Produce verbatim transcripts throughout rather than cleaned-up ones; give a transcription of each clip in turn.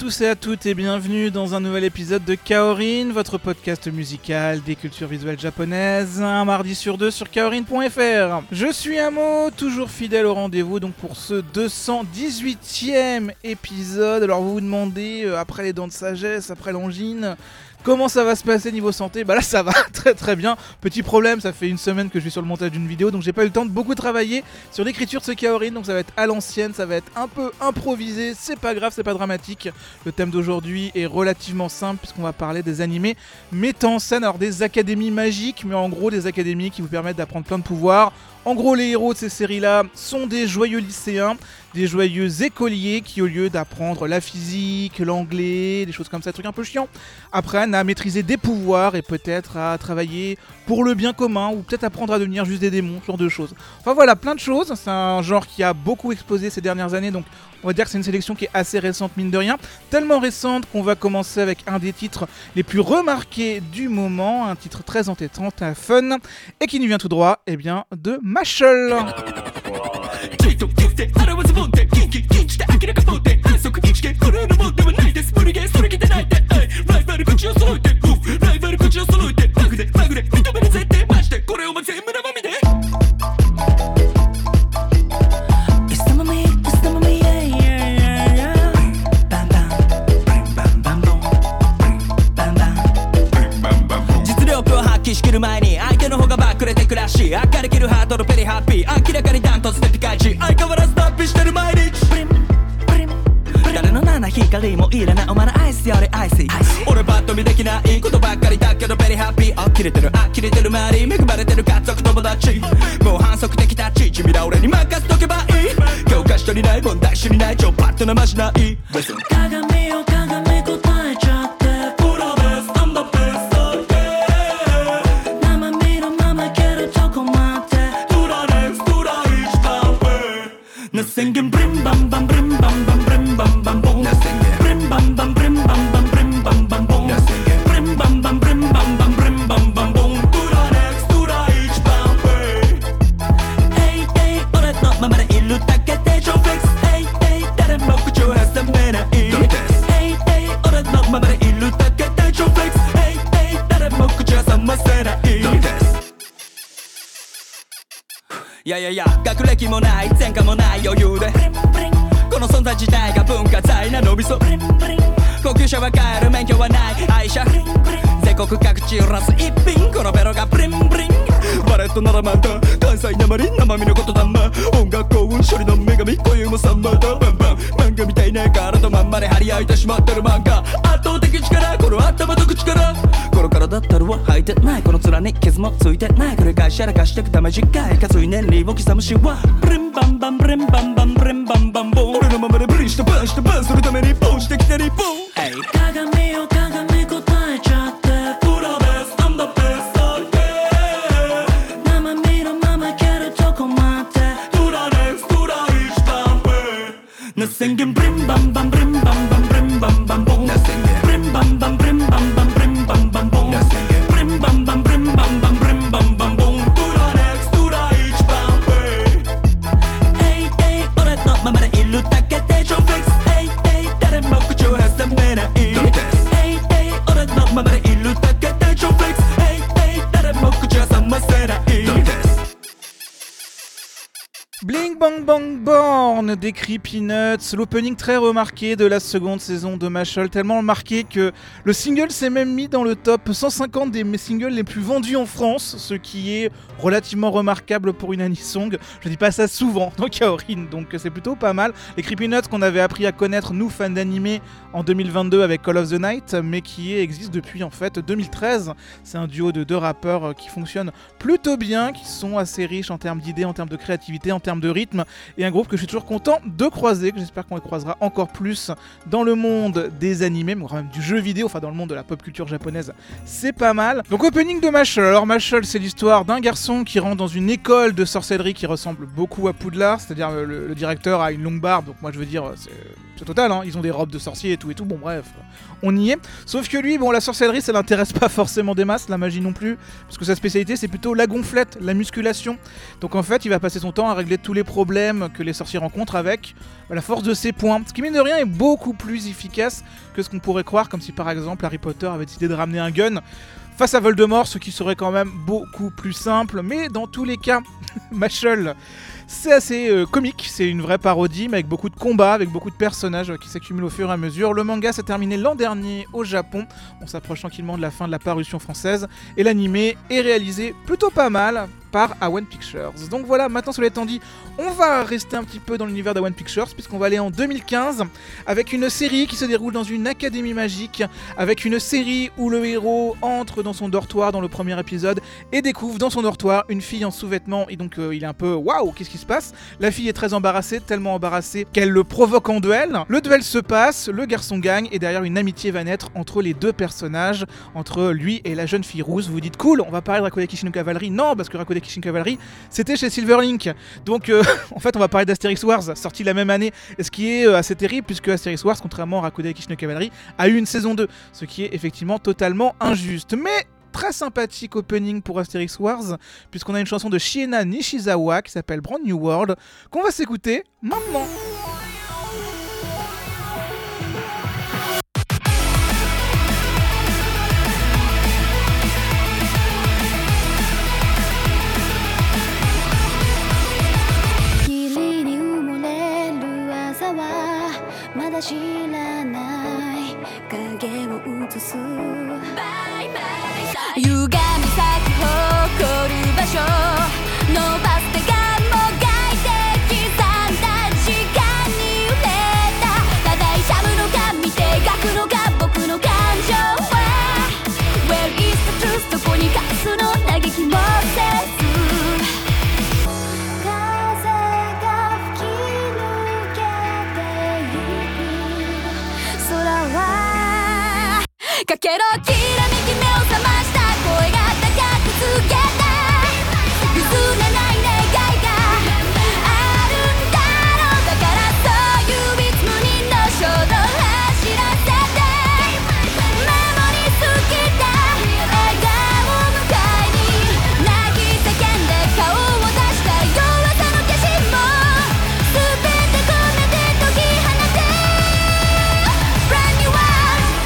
tous et à toutes et bienvenue dans un nouvel épisode de Kaorin, votre podcast musical des cultures visuelles japonaises, un mardi sur deux sur kaorin point f r. Je suis Amo, toujours fidèle au rendez-vous donc pour ce deux cent dix-huitième épisode. Alors vous vous demandez, euh, après les dents de sagesse, après l'angine, comment ça va se passer niveau santé? Bah là ça va très très bien. Petit problème, ça fait une semaine que je suis sur le montage d'une vidéo, donc j'ai pas eu le temps de beaucoup travailler sur l'écriture de ce Kaorin, donc ça va être à l'ancienne, ça va être un peu improvisé, c'est pas grave, c'est pas dramatique. Le thème d'aujourd'hui est relativement simple puisqu'on va parler des animés mettant en scène alors des académies magiques, mais en gros des académies qui vous permettent d'apprendre plein de pouvoirs. En gros, les héros de ces séries-là sont des joyeux lycéens, des joyeux écoliers qui, au lieu d'apprendre la physique, l'anglais, des choses comme ça, des trucs un peu chiants, apprennent à maîtriser des pouvoirs et peut-être à travailler pour le bien commun ou peut-être apprendre à devenir juste des démons, ce genre de choses. Enfin voilà, plein de choses. C'est un genre qui a beaucoup explosé ces dernières années, donc on va dire que c'est une sélection qui est assez récente, mine de rien. Tellement récente qu'on va commencer avec un des titres les plus remarqués du moment, un titre très entêtant, très fun, et qui nous vient tout droit, eh bien, de Mashle. いやいやいや、学歴もない前科もない余裕でこの存在自体が文化財なのびそ高級車は買える免許はない愛車全国各地ラス一品このベロがブリンブリンバレットならまた関西なまり生身のことだま音楽幸運処理の女神今宵もサンバーだバンバン漫画みたいな体まんまで張り合いてしまってる漫画圧倒的力この頭と口からこの体ったるは履いてないこの面に傷もついてない繰り返しやらかしてくため短いかつい年齢を刻むしはブリンバンバンブリンバンバンブリンバンバンボン俺のままでブリンしてバンしてバンするためにボンしてきて日本鏡よ鏡答えちゃってプロベスI'm the best okay生身のままいけるとこまでトラネクストラ一番上 Nothing can ブリンバンバンブリンバンバンブリンバンバンボン Nothing can ブリンバンバンブリンバンバンブリンバンバンボン Nothing can ブリンバンバンブリンバンバンブリンバンバンボントラネクストラ一番上 Hey hey 俺のままでいるだけでジョンフィックス Hey hey 誰も口を挟めない Hey hey 俺のままでいるだけでジョンフィックス Hey hey 誰も口を挟ませない Bling Bang Bang Born des Creepy Nuts, l'opening très remarqué de la seconde saison de Mashle, tellement remarqué que le single s'est même mis dans le top cent cinquante des singles les plus vendus en France, ce qui est relativement remarquable pour une anisong. Je dis pas ça souvent dans Kaorin, donc c'est plutôt pas mal. Les Creepy Nuts qu'on avait appris à connaître, nous fans d'animé, en deux mille vingt-deux avec Call of the Night, mais qui existe depuis en fait deux mille treize. C'est un duo de deux rappeurs qui fonctionnent plutôt bien, qui sont assez riches en termes d'idées, en termes de créativité, en termes de rythme, et un groupe que je suis toujours content de croiser, que j'espère qu'on les croisera encore plus dans le monde des animés, mais quand même du jeu vidéo, enfin dans le monde de la pop culture japonaise, c'est pas mal. Donc opening de Mashle. Alors Mashle, c'est l'histoire d'un garçon qui rentre dans une école de sorcellerie qui ressemble beaucoup à Poudlard, c'est-à-dire le, le directeur a une longue barbe, donc moi je veux dire c'est c'est total, hein, ils ont des robes de sorciers et tout et tout, bon bref, on y est. Sauf que lui, bon, la sorcellerie, ça l'intéresse pas forcément des masses, la magie non plus, parce que sa spécialité, c'est plutôt la gonflette, la musculation. Donc en fait, il va passer son temps à régler tous les problèmes que les sorciers rencontrent avec la force de ses poings, ce qui mine de rien est beaucoup plus efficace que ce qu'on pourrait croire, comme si par exemple Harry Potter avait décidé de ramener un gun face à Voldemort, ce qui serait quand même beaucoup plus simple, mais dans tous les cas, Mashle, c'est assez euh, comique, c'est une vraie parodie, mais avec beaucoup de combats, avec beaucoup de personnages euh, qui s'accumulent au fur et à mesure. Le manga s'est terminé l'an dernier au Japon, on s'approche tranquillement de la fin de la parution française, et l'animé est réalisé plutôt pas mal par A-One Pictures. Donc voilà, maintenant cela étant dit, on va rester un petit peu dans l'univers d'A-One Pictures, puisqu'on va aller en deux mille quinze, avec une série qui se déroule dans une académie magique, avec une série où le héros entre dans son dortoir dans le premier épisode, et découvre dans son dortoir une fille en sous-vêtements, et donc euh, il est un peu « waouh, qu'est-ce qui se passe ?» La fille est très embarrassée, tellement embarrassée qu'elle le provoque en duel. Le duel se passe, le garçon gagne, et derrière une amitié va naître entre les deux personnages, entre lui et la jeune fille rousse. Vous vous dites « cool, on va parler de Rakudai Kishin no Cavalry ?» Non, parce que Rakudai Kishin Cavalry, c'était chez Silverlink. Donc euh, en fait, on va parler d'Asterix Wars, sorti la même année, ce qui est euh, assez terrible, puisque Asterix Wars, contrairement à Rakudai Kishin no Cavalry, a eu une saison deux, ce qui est effectivement totalement injuste. Mais très sympathique opening pour Asterix Wars, puisqu'on a une chanson de Shiena Nishizawa qui s'appelle Brand New World, qu'on va s'écouter maintenant. まだ知らない影を映す歪み咲き誇る場所伸ばす手がもがいて刻んだ時間に揺れたただいしゃぶのか見て描くのか僕の感情は Where is the truth どこに隠すの嘆きもせずかけろきらめき目を覚ました声が高く告げた譲れない願いがあるんだろうだからそういういつもにの衝動走らせてメモリー好きだ笑顔迎えに泣き叫んで顔を出した弱さの化身も全て込めて解き放て Brand new world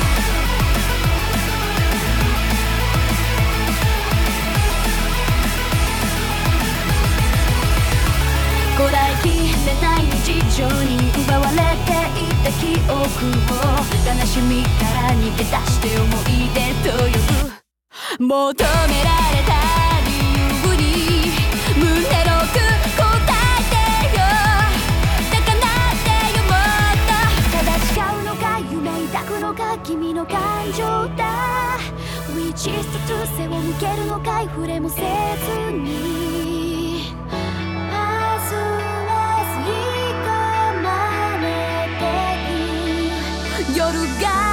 こらえきれない日常に奪われていた記憶を悲しみから逃げ出して思い出と呼ぶ求められた理由に胸の奥答えてよ高鳴ってよもっとただ誓うのか夢抱くのか君の感情だ Which is the truth 背を向けるのかい触れもせずに夜が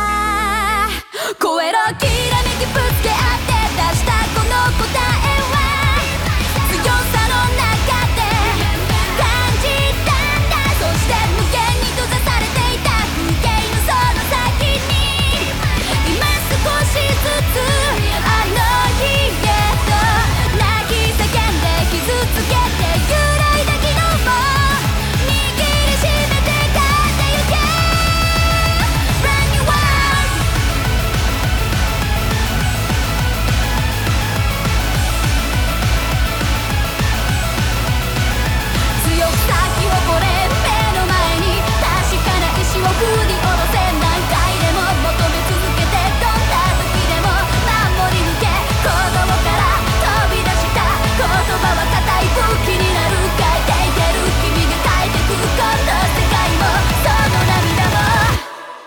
超えろきらめきぶつけ合って出したこの答えは強さの中で感じたんだそして無限に閉ざされていた風景のその先に今少しずつあの日へと泣き叫んで傷つけて揺らいだ昨日も握りしめて帰ってゆけ振り下ろせ何回でも求め続けてどんな時でも守り抜け鼓動から飛び出した言葉は固い武器になる変えていける君が変えてくこの世界もその涙も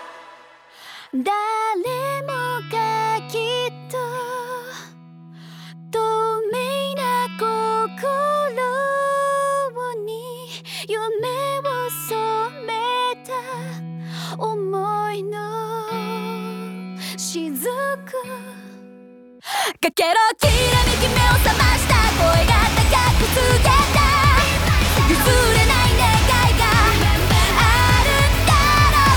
誰もがきっと透明な心に夢を染めた思いの雫かけろきらめき目を覚ました声が高く告げた譲れない願いがあるんだろう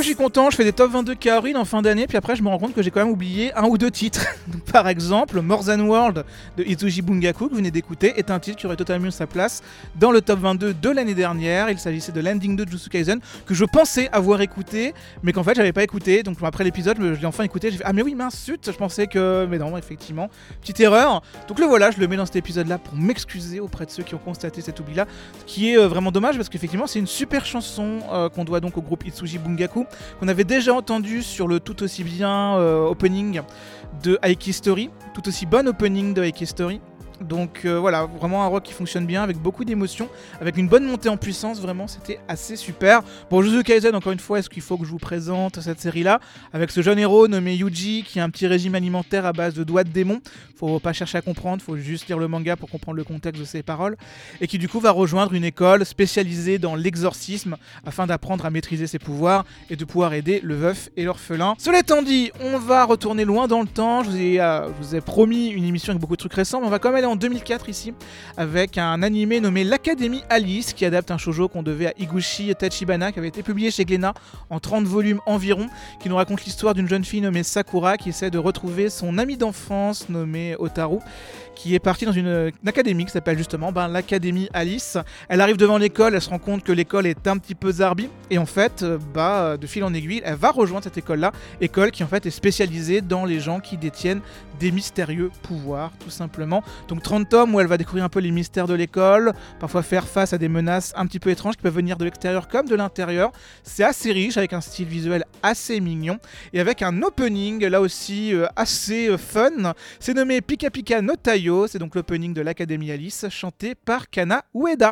je suis content, je fais des top vingt-deux Kaorin en fin d'année, puis après je me rends compte que j'ai quand même oublié un ou deux titres. Par exemple, More Than World de Itsuji Bungaku, que vous venez d'écouter, est un titre qui aurait totalement eu sa place dans le top vingt-deux de l'année dernière. Il s'agissait de l'ending de Jujutsu Kaisen, que je pensais avoir écouté, mais qu'en fait j'avais pas écouté. Donc après l'épisode, je l'ai enfin écouté, j'ai fait ah mais oui mince, zut, je pensais que... Mais non, effectivement, petite erreur. Donc le voilà, je le mets dans cet épisode-là pour m'excuser auprès de ceux qui ont constaté cet oubli-là, qui est euh, vraiment dommage parce qu'effectivement c'est une super chanson euh, qu'on doit donc au groupe Itsuji Bungaku, qu'on avait déjà entendu sur le tout aussi bien euh, opening de Aiki Story, tout aussi bon opening de Aiki Story. Donc euh, voilà, vraiment un rock qui fonctionne bien, avec beaucoup d'émotions, avec une bonne montée en puissance, vraiment c'était assez super. Bon, Jujutsu Kaisen, encore une fois, est-ce qu'il faut que je vous présente cette série-là, avec ce jeune héros nommé Yuji, qui a un petit régime alimentaire à base de doigts de démon, faut pas chercher à comprendre, faut juste lire le manga pour comprendre le contexte de ses paroles, et qui du coup va rejoindre une école spécialisée dans l'exorcisme, afin d'apprendre à maîtriser ses pouvoirs, et de pouvoir aider le veuf et l'orphelin. Cela étant dit, on va retourner loin dans le temps, je vous ai, euh, je vous ai promis une émission avec beaucoup de trucs récents, mais on va quand même aller en deux mille quatre ici, avec un animé nommé l'Académie Alice, qui adapte un shoujo qu'on devait à Higuchi Tachibana, qui avait été publié chez Glénat en trente volumes environ, qui nous raconte l'histoire d'une jeune fille nommée Sakura, qui essaie de retrouver son ami d'enfance nommé Otaru, qui est partie dans une, une académie qui s'appelle justement ben, l'Académie Alice. Elle arrive devant l'école, elle se rend compte que l'école est un petit peu zarbi, et en fait, bah, de fil en aiguille, elle va rejoindre cette école-là, école qui en fait est spécialisée dans les gens qui détiennent des mystérieux pouvoirs, tout simplement. Donc trente tomes où elle va découvrir un peu les mystères de l'école, parfois faire face à des menaces un petit peu étranges qui peuvent venir de l'extérieur comme de l'intérieur. C'est assez riche, avec un style visuel assez mignon, et avec un opening, là aussi, euh, assez euh, fun. C'est nommé Pika Pika no Taiyo, c'est donc l'opening de l'Académie Alice, chanté par Kana Ueda.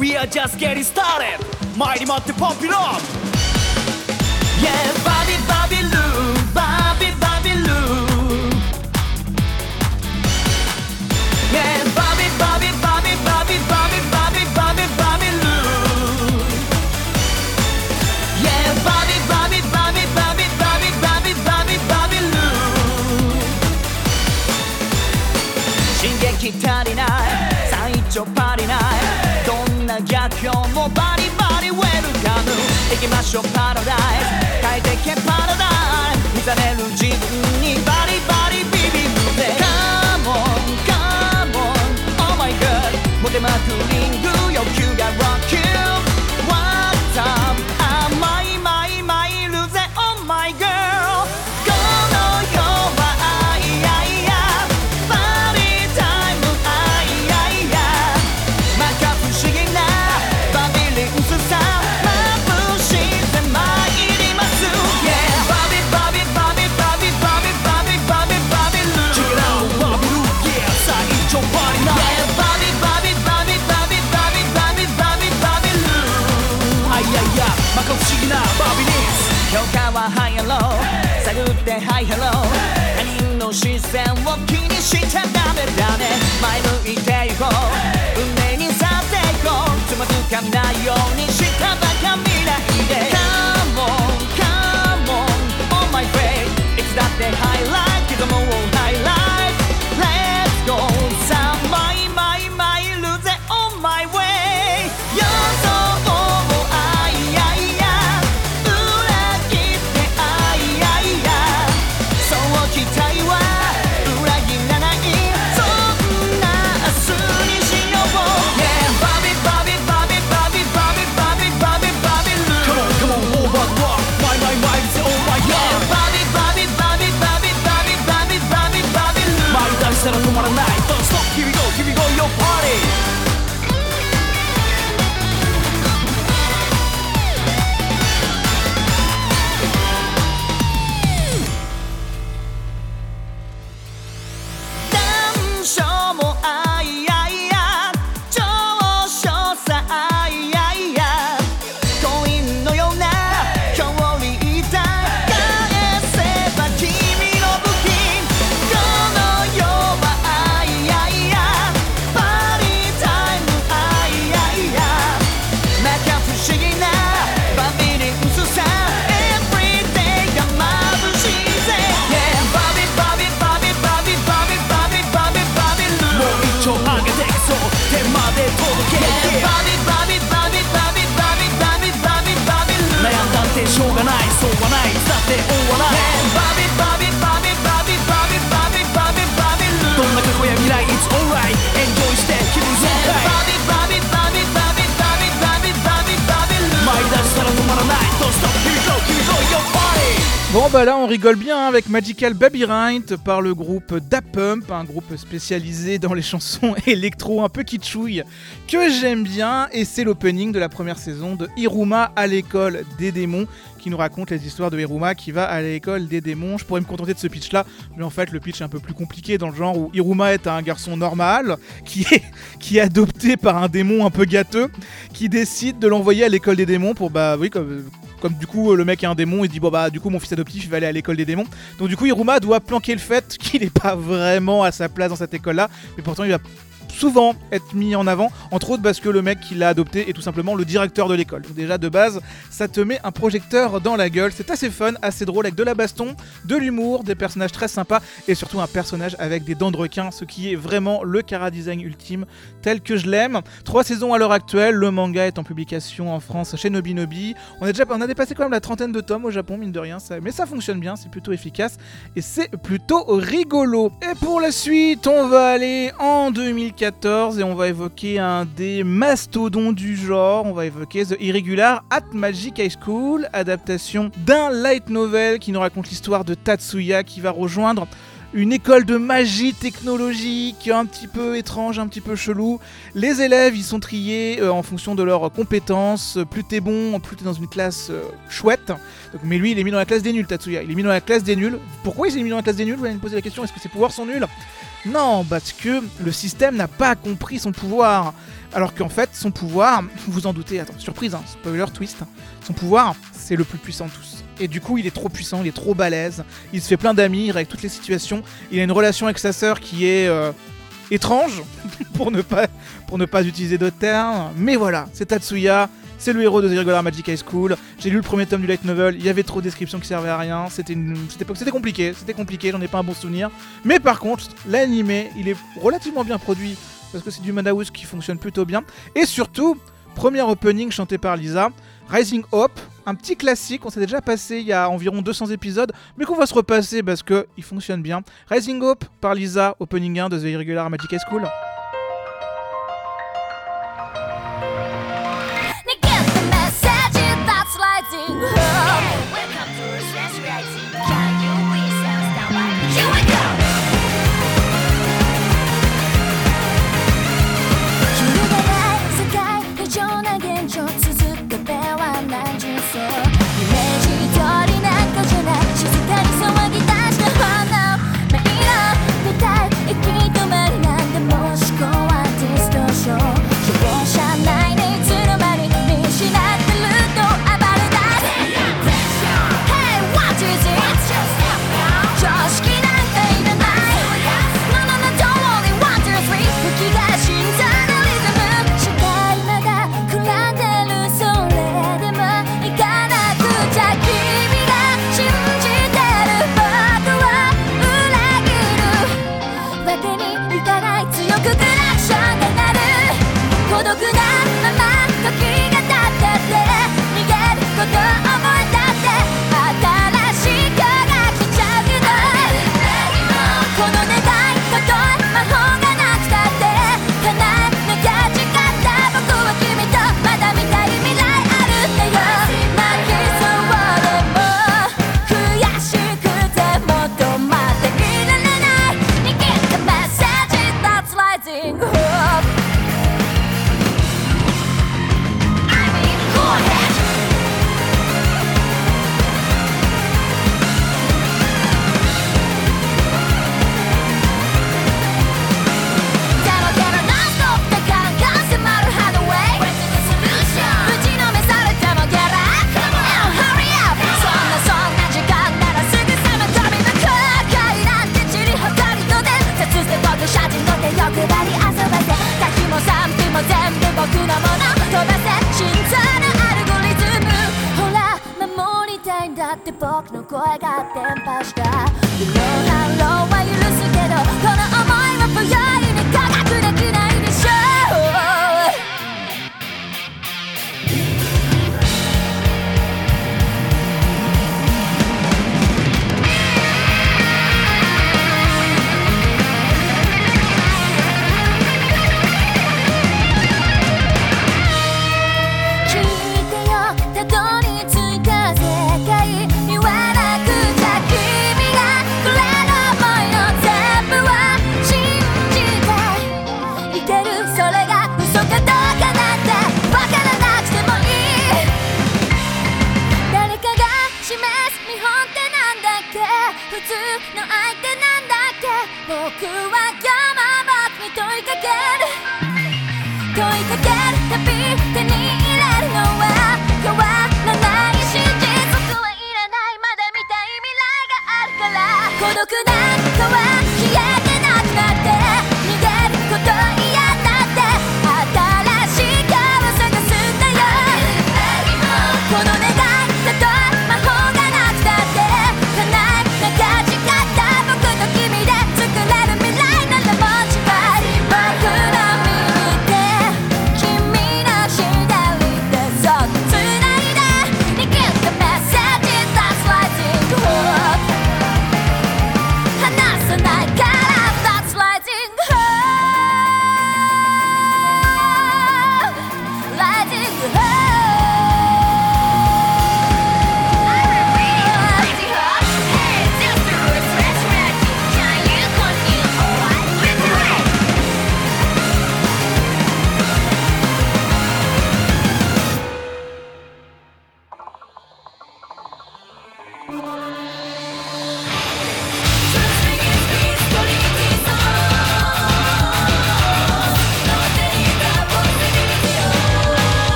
We are just getting started 参りまってポンピロン Yeah, Bobby Bobby Lou Bobby Bobby Lou Yeah, Bobby Bobby Bobby Bobby Bobby Bobby Bobby Bobby Lou Yeah, Bobby Bobby Bobby Bobby Bobby Bobby Bobby Bobby Lou 進撃足りない最長パリないどんな逆境もバリバリウェルカム行きましょうパラダイス変えてけパラダイス見ざれる自分にバリバリビビるぜ Come on, come on, oh my god モテまくりんぐ欲求が Rock you What's up 甘いまいまいるぜ Oh my girl この世は愛愛やパーティータイム愛愛やまか不思議なバビリンスさ眩しさ参ります Yeah Bobby Bobby Bobby Bobby Bobby Bobby Bobby Bobby Lou Check it out Bobby Lou Yeah 最長パリな Yeah Bobby Bobby Bobby Bobby Bobby Bobby Bobby Bobby Lou あいやいやまか不思議なバビリンス評価はハイアロー探ってハイハロー他人の視線を気にしちゃダメだね前向いていこう運命に去っていこうつまずかないようにしたばか見ないで Come on, come on, on my face いつだってハイライト刻もうハイライト Let's go さあマイマイマイルぜ On my way 予想を愛愛や裏切って愛愛やそう期待は裏切らないそんな明日にしよう Yeah Bobby Bobby Bobby Bobby Bobby Bobby Bobby Bobby Lou Come on come on over the rock My my my say oh my god Yeah Bobby Bobby Bobby Bobby Bobby Bobby Bobby Bobby Lou 舞い出したら止まらない Don't stop here we go here we go your party難所も愛愛や長所さ愛愛やコインのような距離だ返せば君の武器この世は愛愛やパーティータイム愛愛やまか不思議なバビリンスさ Everyday が眩しいぜ Yeah Bobby Bobby Bobby Bobby Bobby Bobby Bobby Bobby Lou もう一丁上げていくぞ手まで届け Yeah Bobby Bobby Bobby Bobby Bobby Bobby Bobby Bobby Lou 悩んだってしょうがないそうはないだって終わらない Yeah Bobby Bobby Bobby Bobby Bobby Bobby Bobby Bobby Lou どんな過去や未来 It's alright Enjoy して気分爽快 Bobby Bobby Bobby Bobby Bobby Bobby Bobby Bobby Lou 舞い出したら止まらない Don't stop here we go here we go your party Bon bah là on rigole bien hein, avec Magical Labyrinth par le groupe Da Pump, un groupe spécialisé dans les chansons électro un peu kitschouilles que j'aime bien et c'est l'opening de la première saison de Hiruma à l'école des démons qui nous raconte les histoires de Hiruma qui va à l'école des démons. Je pourrais me contenter de ce pitch là, mais en fait le pitch est un peu plus compliqué dans le genre où Hiruma est un garçon normal qui est, qui est adopté par un démon un peu gâteux qui décide de l'envoyer à l'école des démons pour bah oui comme... Comme du coup le mec est un démon, il dit bon bah du coup mon fils adoptif il va aller à l'école des démons. Donc du coup Hiruma doit planquer le fait qu'il n'est pas vraiment à sa place dans cette école là, mais pourtant il va souvent être mis en avant, entre autres parce que le mec qui l'a adopté est tout simplement le directeur de l'école. Donc déjà de base, ça te met un projecteur dans la gueule, c'est assez fun, assez drôle avec de la baston, de l'humour, des personnages très sympas et surtout un personnage avec des dents de requin, ce qui est vraiment le chara-design ultime tel que je l'aime. Trois saisons à l'heure actuelle, le manga est en publication en France chez Nobinobi. On a déjà on a dépassé quand même la trentaine de tomes au Japon, mine de rien, ça, mais ça fonctionne bien, c'est plutôt efficace et c'est plutôt rigolo. Et pour la suite, on va aller en deux mille quatorze et on va évoquer un des mastodons du genre, on va évoquer The Irregular at Magic High School, adaptation d'un light novel qui nous raconte l'histoire de Tatsuya qui va rejoindre une école de magie technologique un petit peu étrange, un petit peu chelou. Les élèves, ils sont triés euh, en fonction de leurs compétences. Plus t'es bon, plus t'es dans une classe euh, chouette. Donc, mais lui, il est mis dans la classe des nuls, Tatsuya. Il est mis dans la classe des nuls. Pourquoi il est mis dans la classe des nuls ? Vous allez me poser la question, est-ce que ses pouvoirs sont nuls ? Non, parce que le système n'a pas compris son pouvoir. Alors qu'en fait, son pouvoir, vous vous en doutez, attends, surprise, hein, spoiler, twist, son pouvoir, c'est le plus puissant de tous. Et du coup, il est trop puissant, il est trop balèze, il se fait plein d'amis, il règle toutes les situations, il a une relation avec sa sœur qui est euh, étrange, pour, ne pas, pour ne pas utiliser d'autres termes. Mais voilà, c'est Tatsuya, c'est le héros de The Irregular Magic High School. J'ai lu le premier tome du light novel, il y avait trop de descriptions qui servaient à rien, c'était, une... c'était... c'était compliqué, c'était compliqué, j'en ai pas un bon souvenir. Mais par contre, l'animé, il est relativement bien produit, parce que c'est du Madhouse qui fonctionne plutôt bien. Et surtout, premier opening chanté par Lisa, Rising Hope, un petit classique, on s'est déjà passé il y a environ deux cents épisodes, mais qu'on va se repasser parce qu'il fonctionne bien. Rising Hope par Lisa, opening un de The Irregular Magic High School.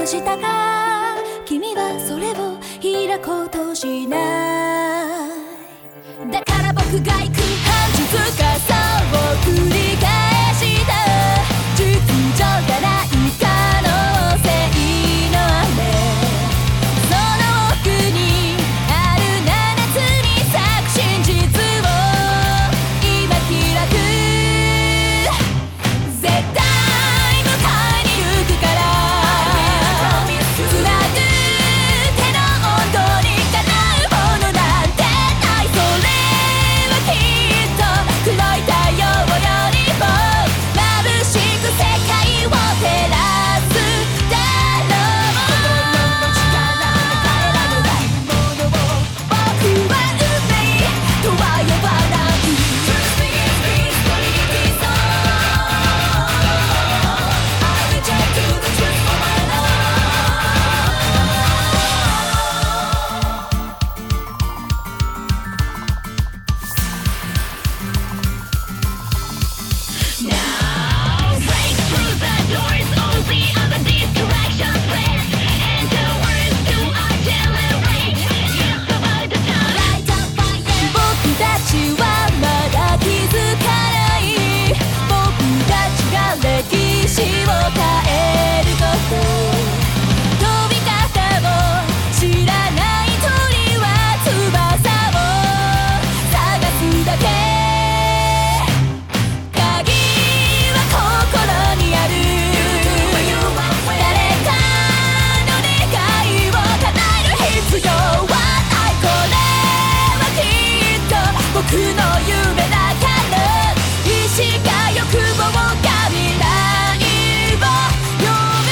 したか君はそれを開こうとしないだから僕が行く半日傘を繰り返した熟女がない可能性の雨その奥にある七つに咲く真実を今開く絶対迎えに行くからつなぐ手の温度にかなうものなんてないそれはきっと黒い太陽よりも眩しく世界を照らすだろう心の力で変えられないものを僕は運命とは呼ばない Trust me, it's reality song I'll reach out to the truth for my love Now break through the doors, all the other distractions please enter words to accelerate It's about the time Light up fire 僕たちはまだ気づかない僕たちが歴史を変えること飛び方を知らない鳥は翼を探すだけ鍵は心にある誰かの願いを叶える必要はないこれはきっと僕の夢だから意志が欲望が未来を呼ぶ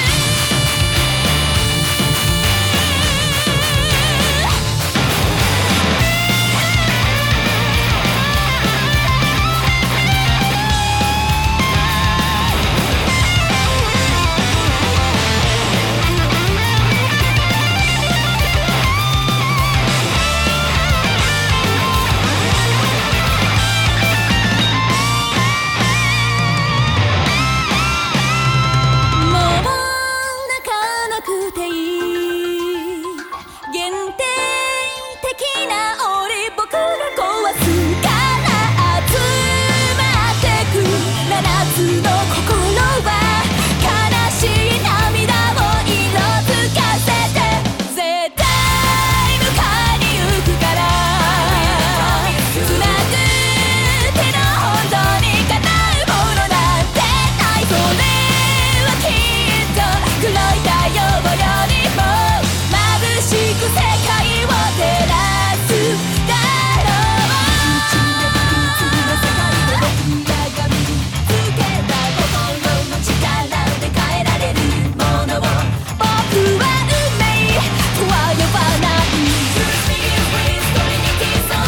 もう泣かなくていい限定的な檻僕が壊すから集まってく七つの心は悲しい涙を色づかせて絶対迎えに行くからつなぐ手の温度にかなうものなんてないそれはきっと黒い太陽よりも眩しく世界を照らすだろう宇宙の次の世界で僕らが身につけた心の力で変えられるものを僕は運命とは呼ばない Trust me, it's reality song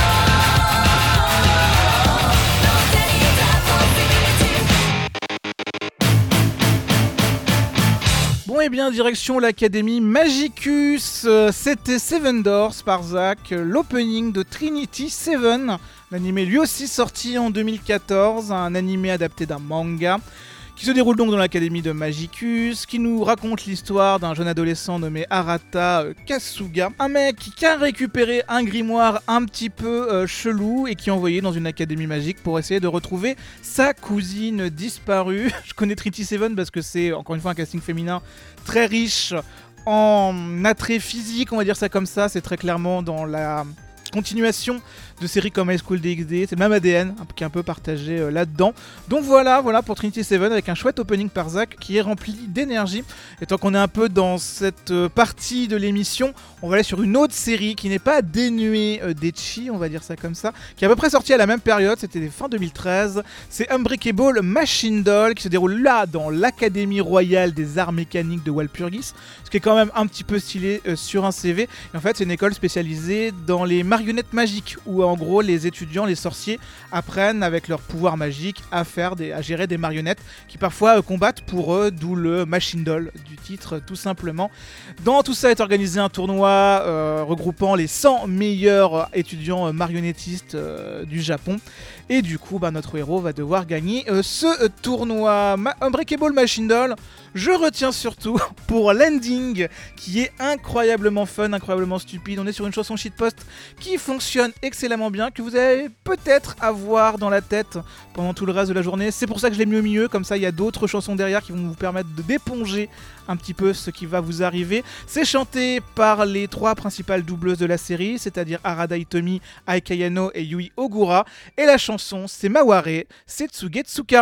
Don't let it possibility Bon et bien, direction l'Académie Magicus, euh, c'était Seven Doors par Zach, euh, l'opening de Trinity Seven, l'animé lui aussi sorti en deux mille quatorze, un animé adapté d'un manga, qui se déroule donc dans l'Académie de Magicus, qui nous raconte l'histoire d'un jeune adolescent nommé Arata euh, Kasuga, un mec qui a récupéré un grimoire un petit peu euh, chelou et qui est envoyé dans une académie magique pour essayer de retrouver sa cousine disparue. Je connais Trinity Seven parce que c'est encore une fois un casting féminin très riche en attrait physique, on va dire ça comme ça, c'est très clairement dans la continuation de séries comme High School D X D, c'est le même A D N hein, qui est un peu partagé euh, là-dedans. Donc voilà, voilà pour Trinity Seven avec un chouette opening par Zach qui est rempli d'énergie. Et tant qu'on est un peu dans cette euh, partie de l'émission, on va aller sur une autre série qui n'est pas dénuée euh, d'ecchi, on va dire ça comme ça, qui est à peu près sortie à la même période, c'était fin deux mille treize. C'est Unbreakable Machine Doll qui se déroule là dans l'Académie Royale des Arts Mécaniques de Walpurgis, ce qui est quand même un petit peu stylé euh, sur un C V. Et en fait, c'est une école spécialisée dans les marionnettes magiques où en gros les étudiants, les sorciers apprennent avec leur pouvoir magique à faire des, à gérer des marionnettes qui parfois euh, combattent pour eux, d'où le Machine Doll du titre tout simplement. Dans tout ça est organisé un tournoi euh, regroupant les cent meilleurs étudiants marionnettistes euh, du Japon Et du coup, bah, notre héros va devoir gagner euh, ce euh, tournoi. Ma- Unbreakable Machine Doll, je retiens surtout pour l'ending qui est incroyablement fun, incroyablement stupide. On est sur une chanson shitpost qui fonctionne excellemment bien, que vous allez peut-être avoir dans la tête pendant tout le reste de la journée. C'est pour ça que je l'ai mis au milieu, comme ça il y a d'autres chansons derrière qui vont vous permettre de d'éponger un petit peu ce qui va vous arriver. C'est chanté par les trois principales doubleuses de la série, c'est-à-dire Arada Hitomi, Ai Kayano et Yui Ogura. Et la chanson, c'est Maware Setsuge Tsuka.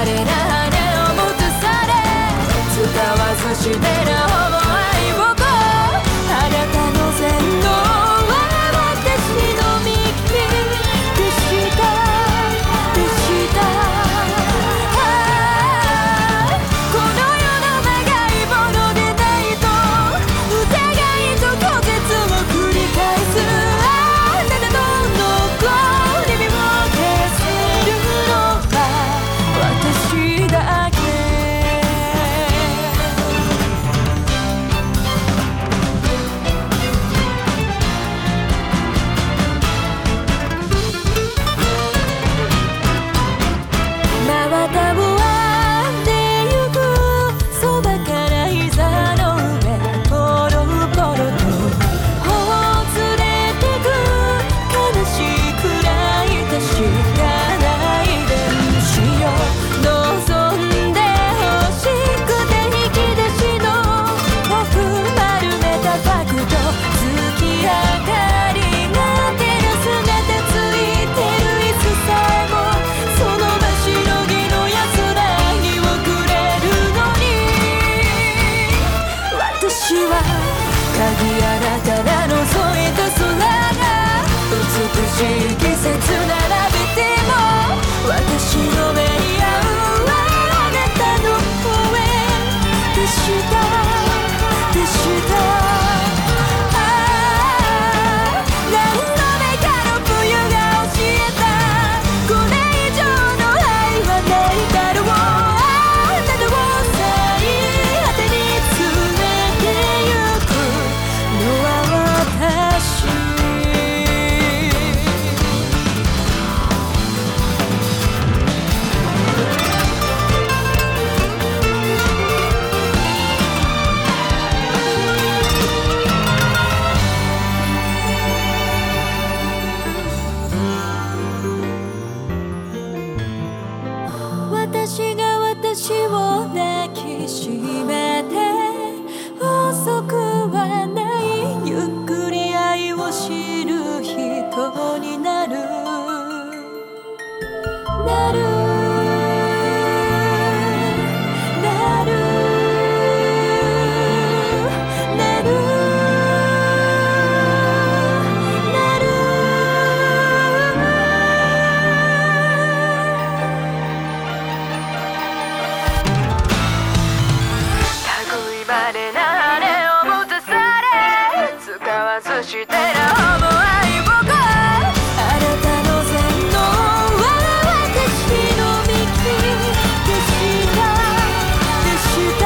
れな羽を持つされ使わずしてなほぼ愛をこうあなたの全能は私の右でしたでしたこの世の長いものでないと疑いと拒絶を繰り返すあなたの残り火を消せるのは私だけ真綿を編んでゆくそばから膝の上ポロポロとほつれてく悲しいくらい確かな遺伝子よ望んで欲しくて引き出しの奥丸めたファクト月明かりが照らすめてついてる椅子さえもその場しのぎの安らぎをくれるのに私は鍵穴から覗いた空が美しい季節並べても私の目に合うはあなたの声でしたでしたああ何度目かの冬が教えたこれ以上の愛はないだろうあなたを最果てに連れてゆくのは私私が私を抱きしめて遅くはないゆっくり愛を知る人になるなるなるなるなる類まれな羽を持たされ使わずしてなほぼ愛をこうあなたの全能は私の右でしたでした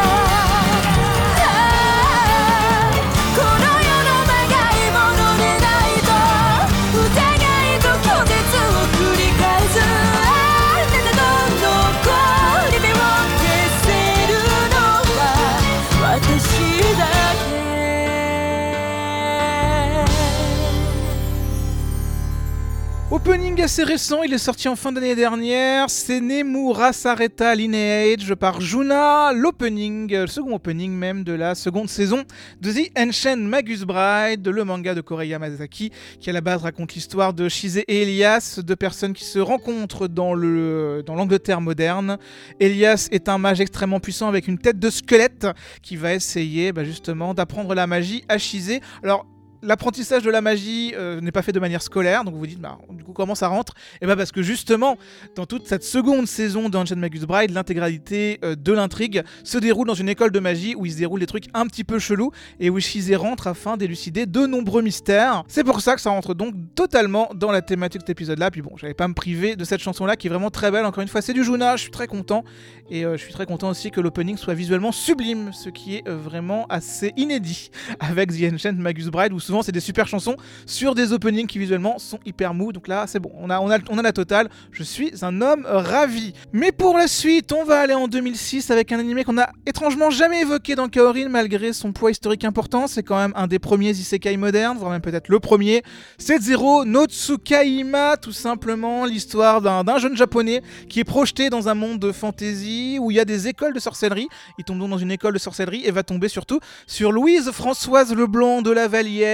ああこの世の長いものでないと疑いと拒絶を繰り返すあなたの残り火を消せるのは私だけ Opening assez récent, il est sorti en fin d'année dernière, c'est Nemura Sareta Lineage par Juna, l'opening, le second opening même de la seconde saison de The Ancient Magus Bride, le manga de Korei Yamazaki, qui à la base raconte l'histoire de Shise et Elias, deux personnes qui se rencontrent dans, le, dans l'Angleterre moderne. Elias est un mage extrêmement puissant avec une tête de squelette qui va essayer bah, justement d'apprendre la magie à Shise. Alors, l'apprentissage de la magie euh, n'est pas fait de manière scolaire, donc vous vous dites, bah, du coup, comment ça rentre ? Et bah parce que justement, dans toute cette seconde saison d'Ancient Magus Bride, l'intégralité euh, de l'intrigue se déroule dans une école de magie où il se déroule des trucs un petit peu chelous et où Shise rentre afin d'élucider de nombreux mystères. C'est pour ça que ça rentre donc totalement dans la thématique de cet épisode-là. Puis bon, j'allais pas me priver de cette chanson-là qui est vraiment très belle. Encore une fois, c'est du Juna, je suis très content. Et euh, je suis très content aussi que l'opening soit visuellement sublime, ce qui est euh, vraiment assez inédit avec The Ancient Magus Bride, où souvent c'est des super chansons sur des openings qui visuellement sont hyper mous. Donc là c'est bon, on a, on a, on a la totale. Je suis un homme ravi. Mais pour la suite, on va aller en deux mille six avec un animé qu'on a étrangement jamais évoqué dans Kaorin malgré son poids historique important. C'est quand même un des premiers isekai modernes, voire même peut-être le premier. C'est Zero no Tsukaima, tout simplement l'histoire d'un, d'un jeune japonais qui est projeté dans un monde de fantasy où il y a des écoles de sorcellerie. Il tombe donc dans une école de sorcellerie et va tomber surtout sur Louise Françoise Leblanc de la Vallière,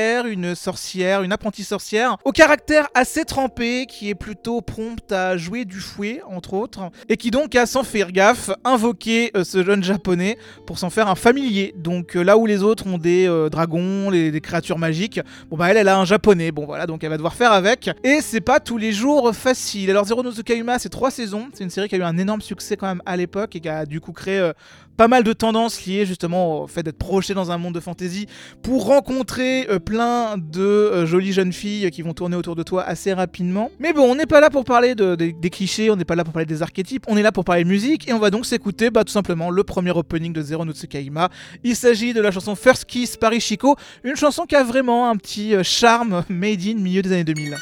sorcière, une sorcière, une apprentie sorcière, au caractère assez trempé, qui est plutôt prompte à jouer du fouet, entre autres, et qui donc a, sans faire gaffe, invoqué euh, ce jeune japonais pour s'en faire un familier. Donc euh, là où les autres ont des euh, dragons, les, des créatures magiques, bon bah elle, elle a un japonais, bon voilà, donc elle va devoir faire avec, et c'est pas tous les jours facile. Alors Zero no Tsukaima, c'est trois saisons, c'est une série qui a eu un énorme succès quand même à l'époque, et qui a du coup créé euh, pas mal de tendances liées justement au fait d'être projeté dans un monde de fantasy pour rencontrer euh, plein de euh, jolies jeunes filles qui vont tourner autour de toi assez rapidement. Mais bon, on n'est pas là pour parler de, de, des clichés, on n'est pas là pour parler des archétypes, on est là pour parler de musique, et on va donc s'écouter bah, tout simplement le premier opening de Zero no Tsukaima. Il s'agit de la chanson First Kiss par Ichiko, une chanson qui a vraiment un petit euh, charme made in milieu des années deux mille.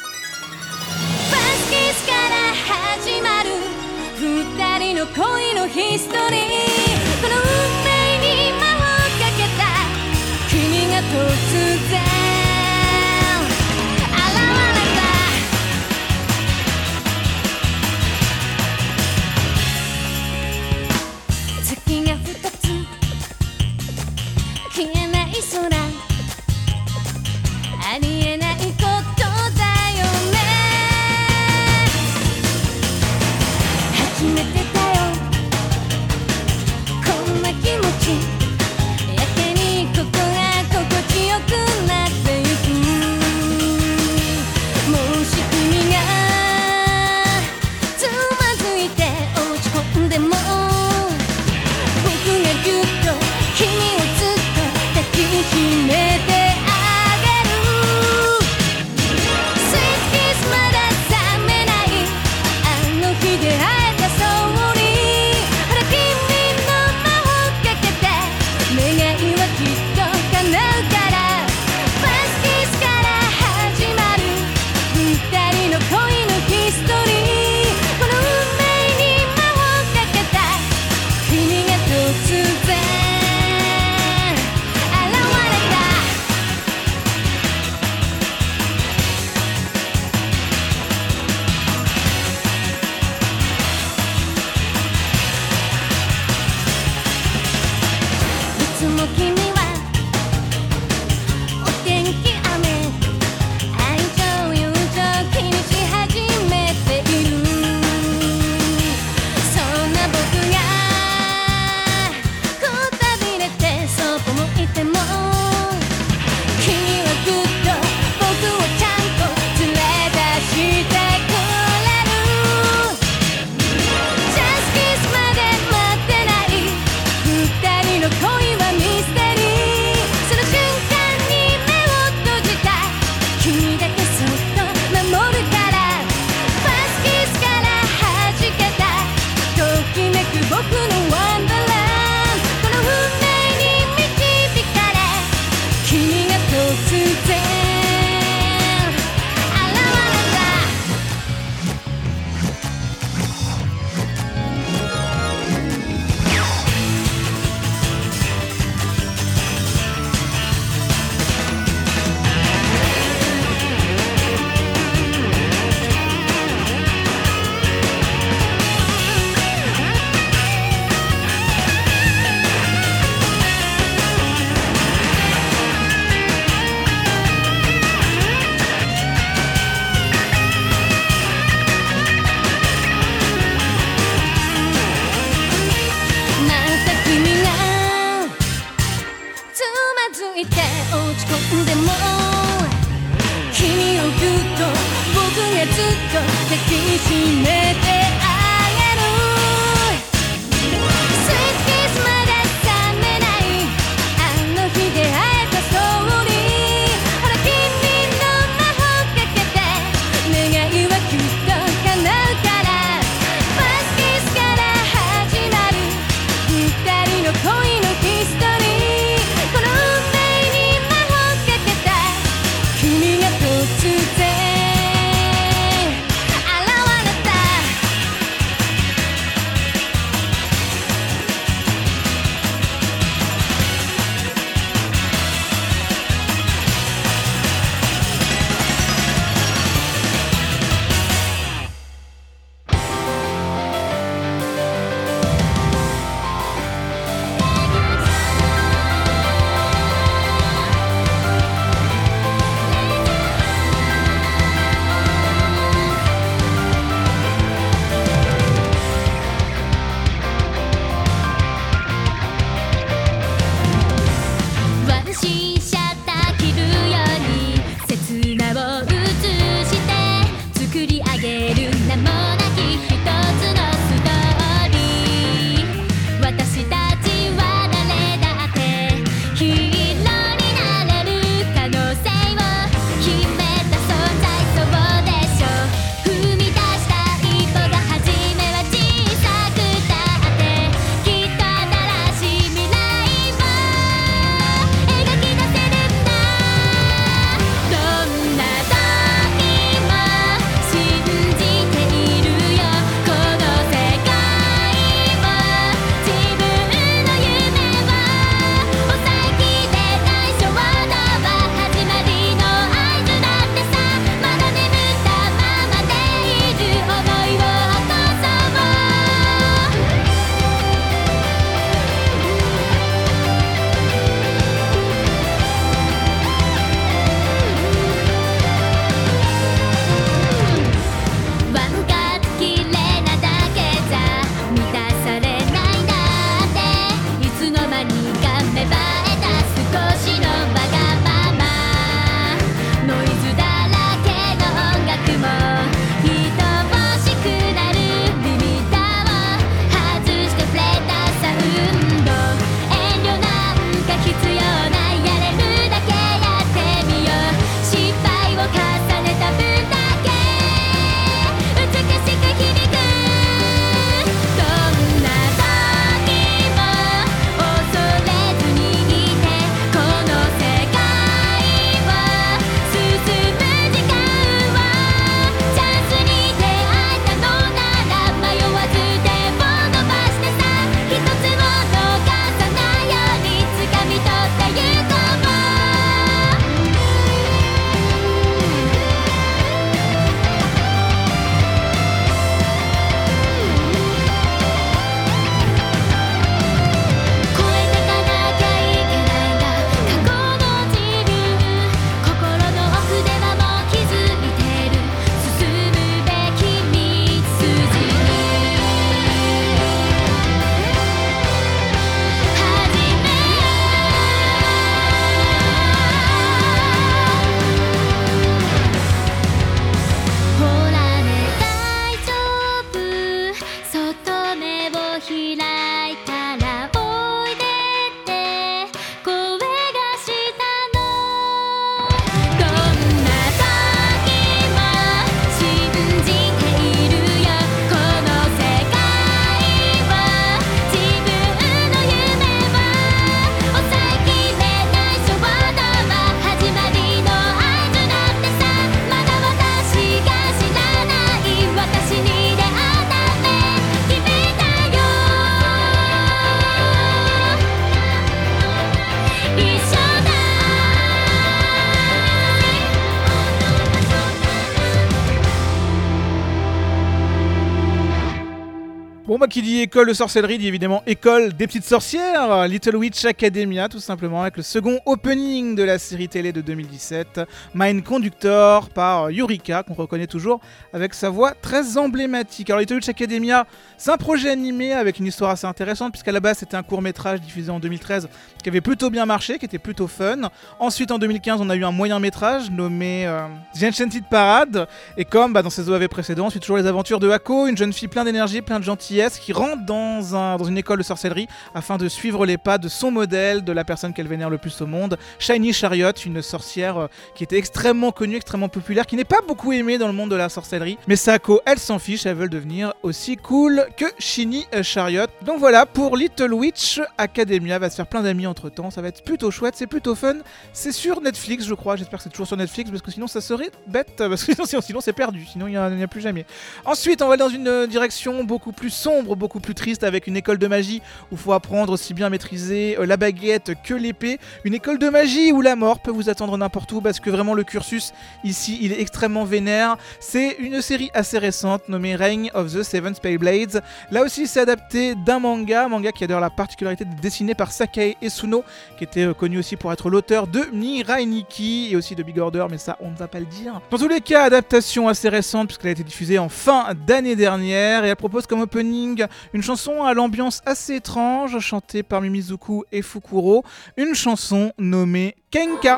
Bon bah qui dit école de sorcellerie dit évidemment école des petites sorcières, Little Witch Academia tout simplement, avec le second opening de la série télé de deux mille dix-sept, Mind Conductor par Yurika, qu'on reconnaît toujours avec sa voix très emblématique. Alors Little Witch Academia, c'est un projet animé avec une histoire assez intéressante, puisqu'à la base c'était un court métrage diffusé en deux mille treize qui avait plutôt bien marché, qui était plutôt fun. Ensuite en deux mille quinze on a eu un moyen métrage nommé euh, The Enchanted Parade, et comme bah, dans ses O A V précédents, on suit toujours les aventures de Hako, une jeune fille pleine d'énergie, pleine de gentillesse, qui rentre dans, un, dans une école de sorcellerie afin de suivre les pas de son modèle, de la personne qu'elle vénère le plus au monde, Shiny Chariot, une sorcière euh, qui était extrêmement connue, extrêmement populaire, qui n'est pas beaucoup aimée dans le monde de la sorcellerie. Mais Sako, elle s'en fiche, elle veut devenir aussi cool que Shiny Chariot. Donc voilà, pour Little Witch Academia, va se faire plein d'amis entre temps, ça va être plutôt chouette, c'est plutôt fun. C'est sur Netflix, je crois, j'espère que c'est toujours sur Netflix, parce que sinon ça serait bête, parce que sinon, sinon c'est perdu, sinon il n'y a, a plus jamais. Ensuite, on va aller dans une direction beaucoup plus sombre, beaucoup plus triste, avec une école de magie où il faut apprendre aussi bien à maîtriser euh, la baguette que l'épée. Une école de magie où la mort peut vous attendre n'importe où, parce que vraiment le cursus ici il est extrêmement vénère. C'est une série assez récente nommée Reign of the Seven Spellblades. Là aussi c'est adapté d'un manga, manga qui a d'ailleurs la particularité d'être dessiné par Sakae Esuno, qui était euh, connu aussi pour être l'auteur de Mirai Nikki et aussi de Big Order, mais ça on ne va pas le dire. Dans tous les cas, adaptation assez récente puisqu'elle a été diffusée en fin d'année dernière, et elle propose comme opening une chanson à l'ambiance assez étrange, chantée par Mimizuku et Fukuro, une chanson nommée Kenka.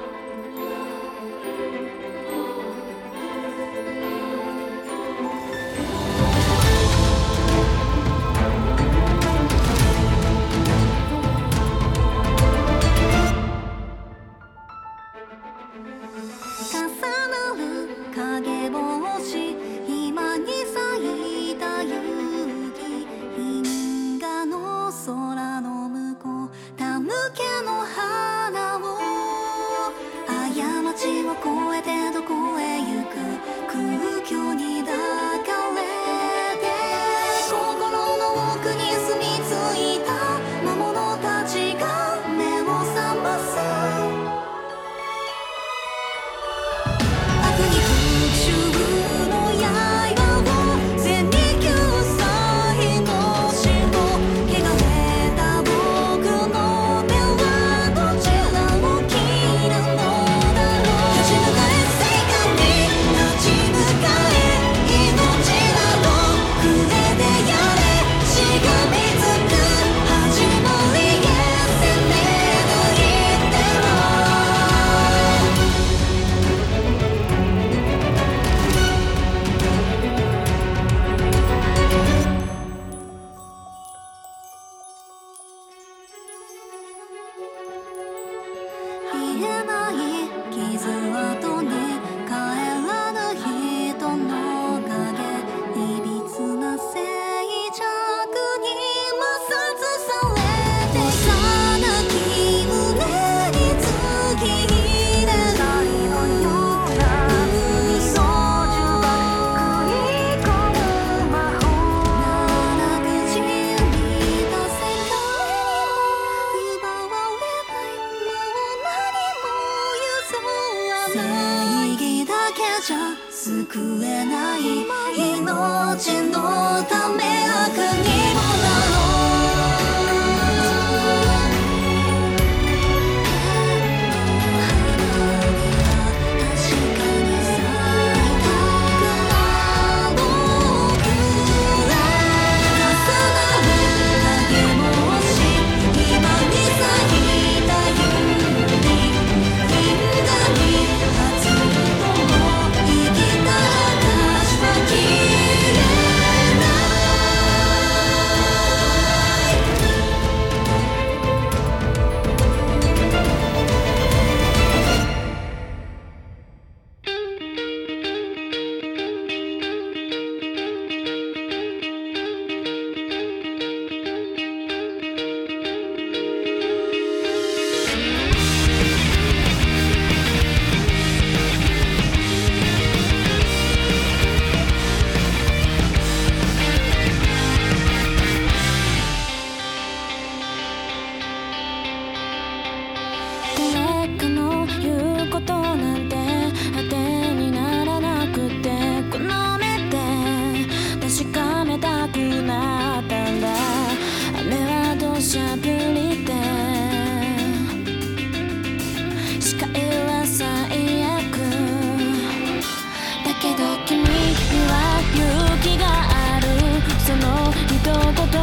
「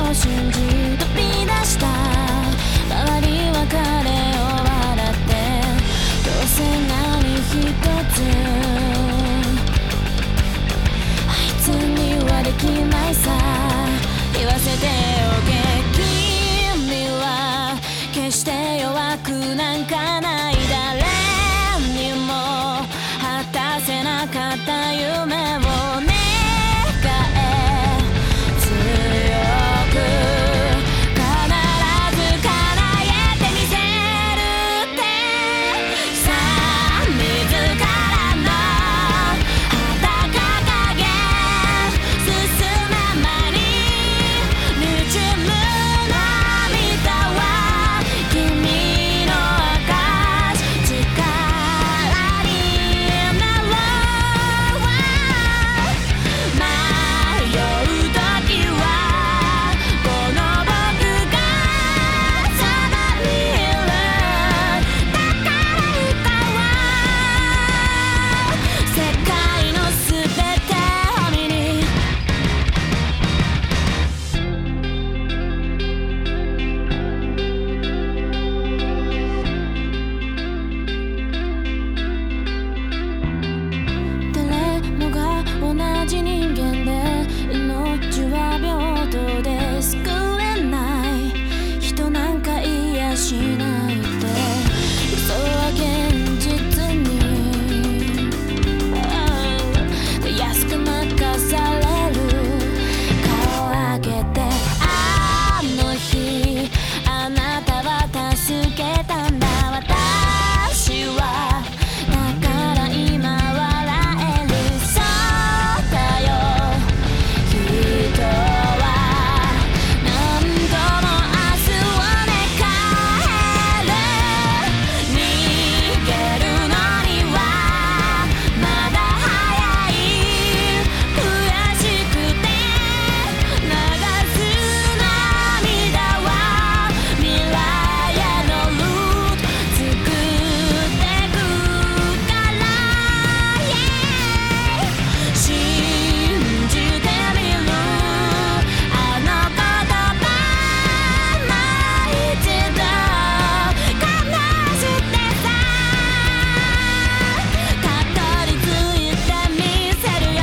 を信じ飛び出した周りは彼を笑ってどうせ何一つあいつにはできないさ言わせておけ君は決して弱くなんかない誰にも果たせなかった夢を願え強く必ず叶えてみせるってさあ自らの旗掲げ進むまに滲む涙は君の証力になろう迷う時はこの僕がそばにいるだから歌は世界のすべてを見に誰もが同じ人間で命は平等で救えない人なんかいやしないって嘘は現実にたやすく任される顔上げてあの日あなたは助けたんだ私はだから今笑えるそうだよ人は何度も明日を願える逃げるのにはまだ早い悔しくて流す涙は未来へのルート作ってくから、yeah、信じてみるあの言葉もう一度話してさたどり着いてみせるよ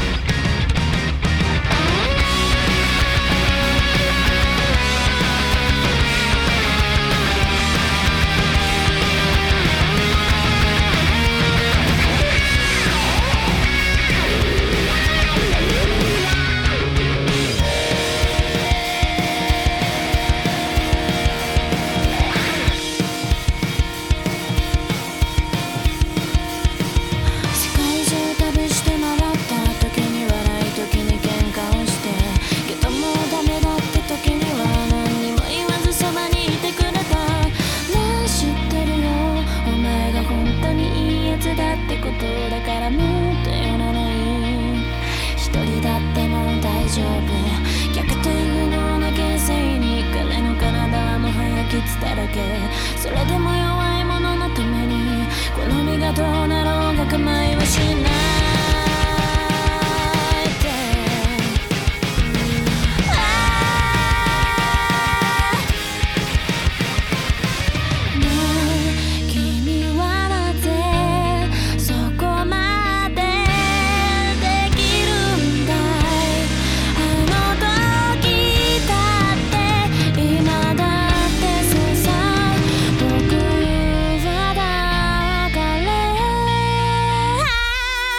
世界中旅して回った時に笑い時に喧嘩をしてけどもうダメだって時には何にも言わずそばにいてくれたねえ知ってるよお前が本当にいいやつだってことだからもっと寄らない一人だってもう大丈夫逆転不能な形勢に彼の体はもはや傷だらけそれでも弱い者のためにこの身がどうなろうが構いはしないってああねえ君はなぜそこまでできるんだいあの時だって今だってさ僕はだから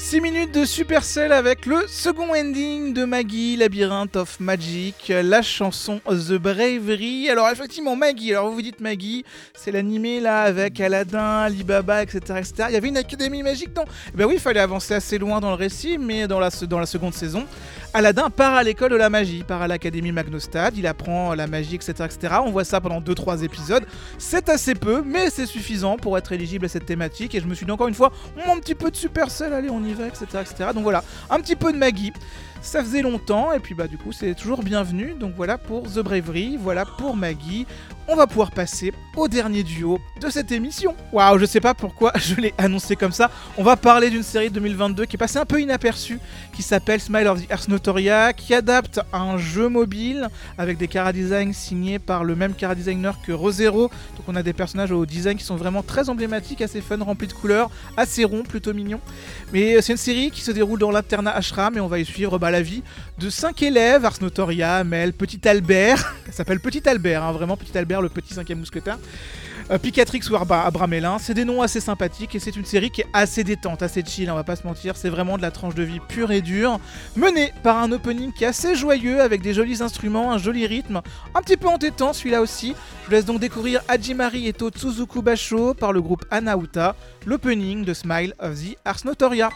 six minutes de Supercell avec le second ending de Maggie, Labyrinth of Magic, la chanson The Bravery. Alors effectivement Maggie, alors vous vous dites Maggie, c'est l'animé là avec Aladdin, Alibaba, et cetera, et cetera. Il y avait une académie magique, non ? Eh ben oui, il fallait avancer assez loin dans le récit, mais dans la, dans la seconde saison, Aladdin part à l'école de la magie, part à l'académie Magnostad, il apprend la magie, et cetera, et cetera. On voit ça pendant deux trois épisodes. C'est assez peu, mais c'est suffisant pour être éligible à cette thématique. Et je me suis dit encore une fois, un petit peu de Supercell, allez, on y va, et cetera, et cetera. Donc voilà, un petit peu de Maggie. Ça faisait longtemps, et puis bah du coup, c'est toujours bienvenu. Donc voilà pour The Bravery, voilà pour Maggie. On va pouvoir passer au dernier duo de cette émission. Waouh, je sais pas pourquoi je l'ai annoncé comme ça. On va parler d'une série de deux mille vingt-deux qui est passée un peu inaperçue, qui s'appelle Smile of the Earth Notoria, qui adapte un jeu mobile avec des chara-designs signés par le même chara-designer que ReZero. Donc on a des personnages au design qui sont vraiment très emblématiques, assez fun, remplis de couleurs, assez ronds, plutôt mignons. Mais c'est une série qui se déroule dans l'internat Ashram et on va y suivre bah, la vie de cinq élèves, Ars Notoria, Mel, Petit Albert, ça s'appelle Petit Albert, hein, vraiment Petit Albert, le petit cinquième mousquetaire, euh, Picatrix ou Arba- Abramélin. C'est des noms assez sympathiques et c'est une série qui est assez détente, assez chill, on va pas se mentir, c'est vraiment de la tranche de vie pure et dure, menée par un opening qui est assez joyeux avec des jolis instruments, un joli rythme, un petit peu entêtant celui-là aussi. Je vous laisse donc découvrir Hajimari Eto Tsuzuku Basho par le groupe Anauta, l'opening de Smile of the Ars Notoria.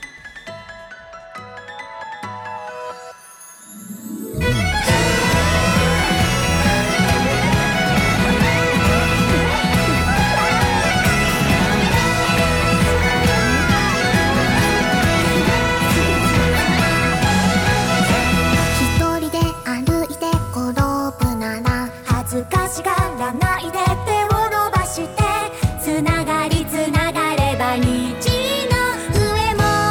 恥ずかしがらないで手を伸ばしてつながりつながれば虹の上も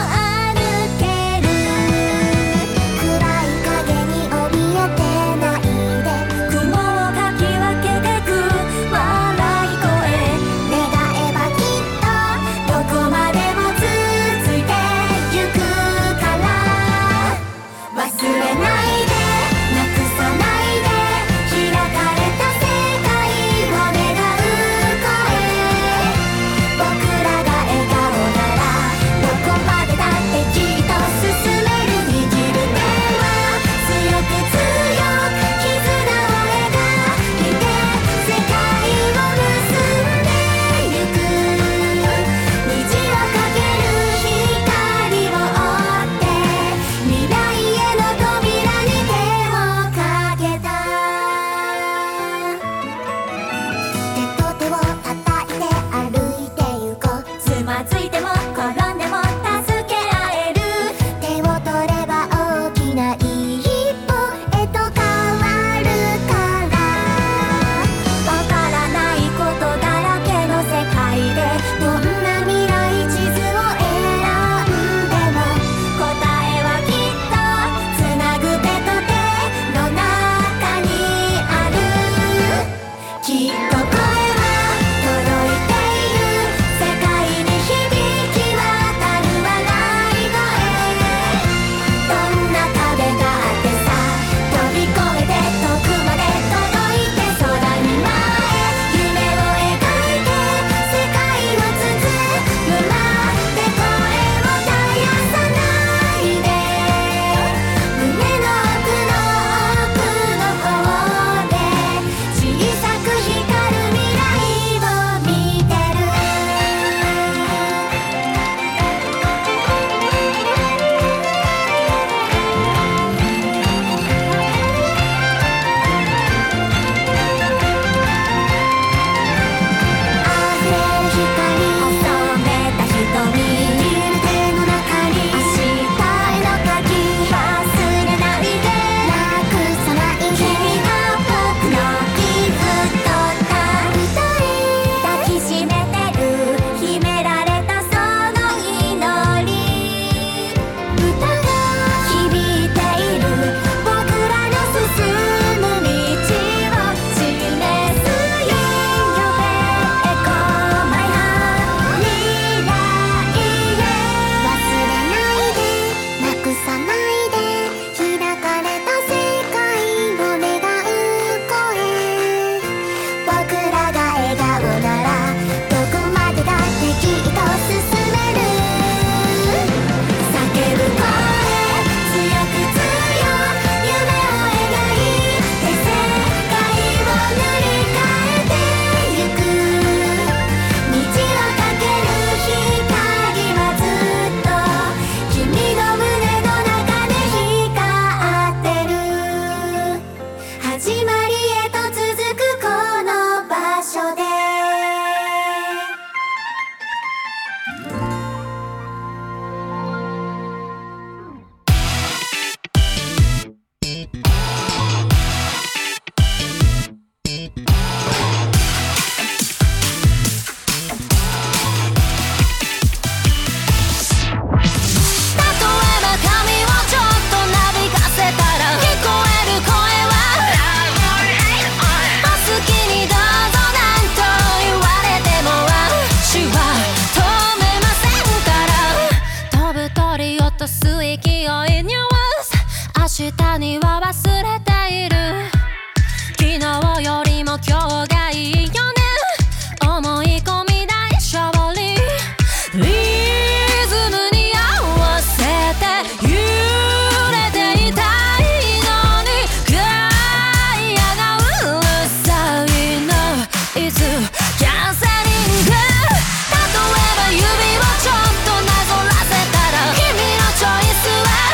明日には忘れている。昨日よりも今日がいいよね。思い込み大勝利。リズムに合わせて揺れていたいのに、ガイアがうるさいの。いつキャンセリング。例えば指をちょっとなぞらせたら、君のチョイスは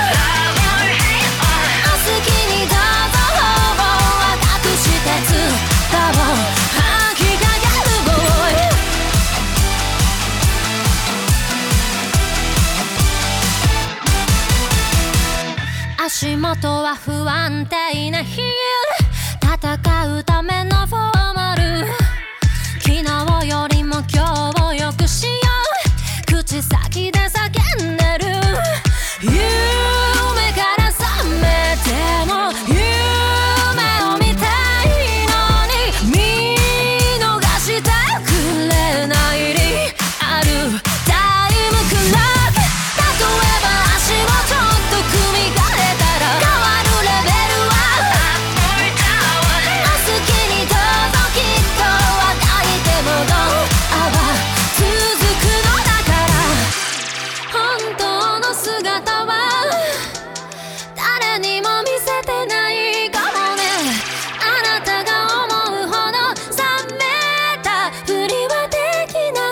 足元は不安定な日々、戦うためのフォーマル。昨日よりも今日を良くしよう。口先で叫んでる。夢から覚めても夢を見たいのに、見逃してくれない理あるタイムクロック。例えば足をちょっと組み替えたら変わるレベルはお好きにどうぞ。きっとあがいてもどうあは続くのだから。本当の姿は誰にも見せてないかもね。あなたが思うほど冷めたふりはできない。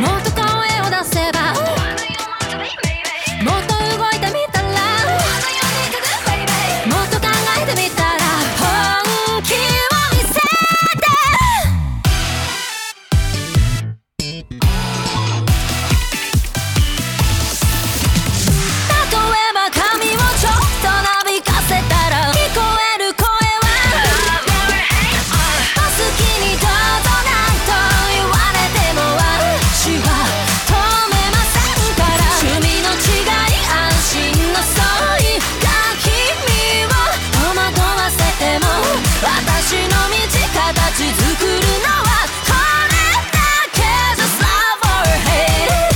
もっと声を出せば、もっと動いてみたら、もっと考えてみたら、本気を見せて。例えば髪をちょっとなびかせたら、聞こえる声はお好きにどうぞ。なんと言われても私は止めませんから。趣味の違い、安心の相違が君を戸惑わせても、私の道形作るのはこれだけ。 Just love or hate。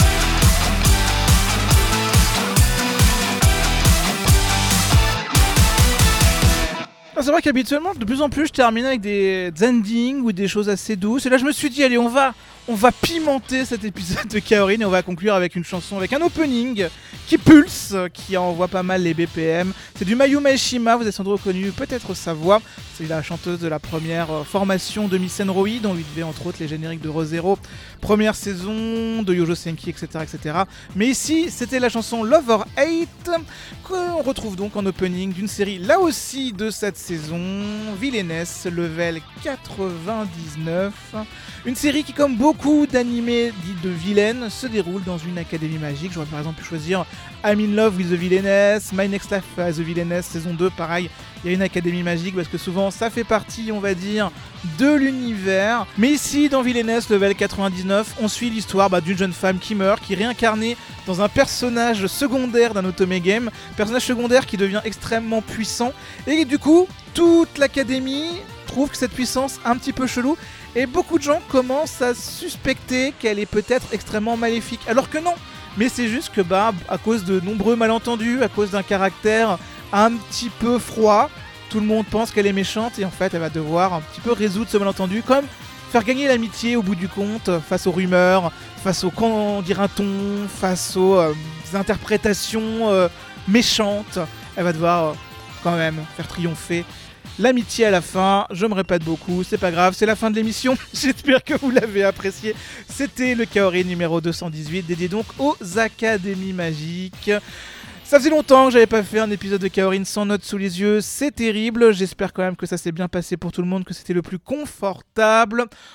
Ah, c'est vrai qu'habituellement, de plus en plus, je termine avec des endings ou des choses assez douces. Et là, je me suis dit, allez, on va, on va pimenter cet épisode de Kaorin et on va conclure avec une chanson, avec un opening qui pulse, qui envoie pas mal les B P M. C'est du Mayuma Eshima, vous avez sans doute reconnu peut-être sa voix. C'est la chanteuse de la première euh, formation de Miss Enroi, dont lui devait entre autres les génériques de Re:Zero, première saison, de Yojo Senki, et cetera, et cetera. Mais ici, c'était la chanson Love or Hate, qu'on retrouve donc en opening d'une série, là aussi de cette saison, Villainess, level quatre-vingt-dix-neuf. Une série qui, comme beaucoup d'animés dits de vilaines, se déroule dans une académie magique. J'aurais par exemple pu choisir I'm in Love with the Villainess, My Next Life as the Villainess, saison deux, pareil, il y a une académie magique parce que souvent ça fait partie, on va dire, de l'univers. Mais ici, dans Villainess, level quatre-vingt-dix-neuf, on suit l'histoire bah, d'une jeune femme qui meurt, qui est réincarnée dans un personnage secondaire d'un Otome Game, personnage secondaire qui devient extrêmement puissant, et du coup, toute l'académie trouve que cette puissance un petit peu chelou, et beaucoup de gens commencent à suspecter qu'elle est peut-être extrêmement maléfique, alors que non. Mais c'est juste que bah, à cause de nombreux malentendus, à cause d'un caractère un petit peu froid, tout le monde pense qu'elle est méchante, et en fait elle va devoir un petit peu résoudre ce malentendu, comme faire gagner l'amitié au bout du compte, face aux rumeurs, face aux qu'en dira-t-on, face aux euh, interprétations euh, méchantes. Elle va devoir euh, quand même faire triompher l'amitié à la fin. Je me répète beaucoup, c'est pas grave, c'est la fin de l'émission. J'espère que vous l'avez apprécié. C'était le Kaorin numéro deux cent dix-huit, dédié donc aux académies magiques. Ça faisait longtemps que j'avais pas fait un épisode de Kaorin sans notes sous les yeux, c'est terrible. J'espère quand même que ça s'est bien passé pour tout le monde, que c'était le plus confortable.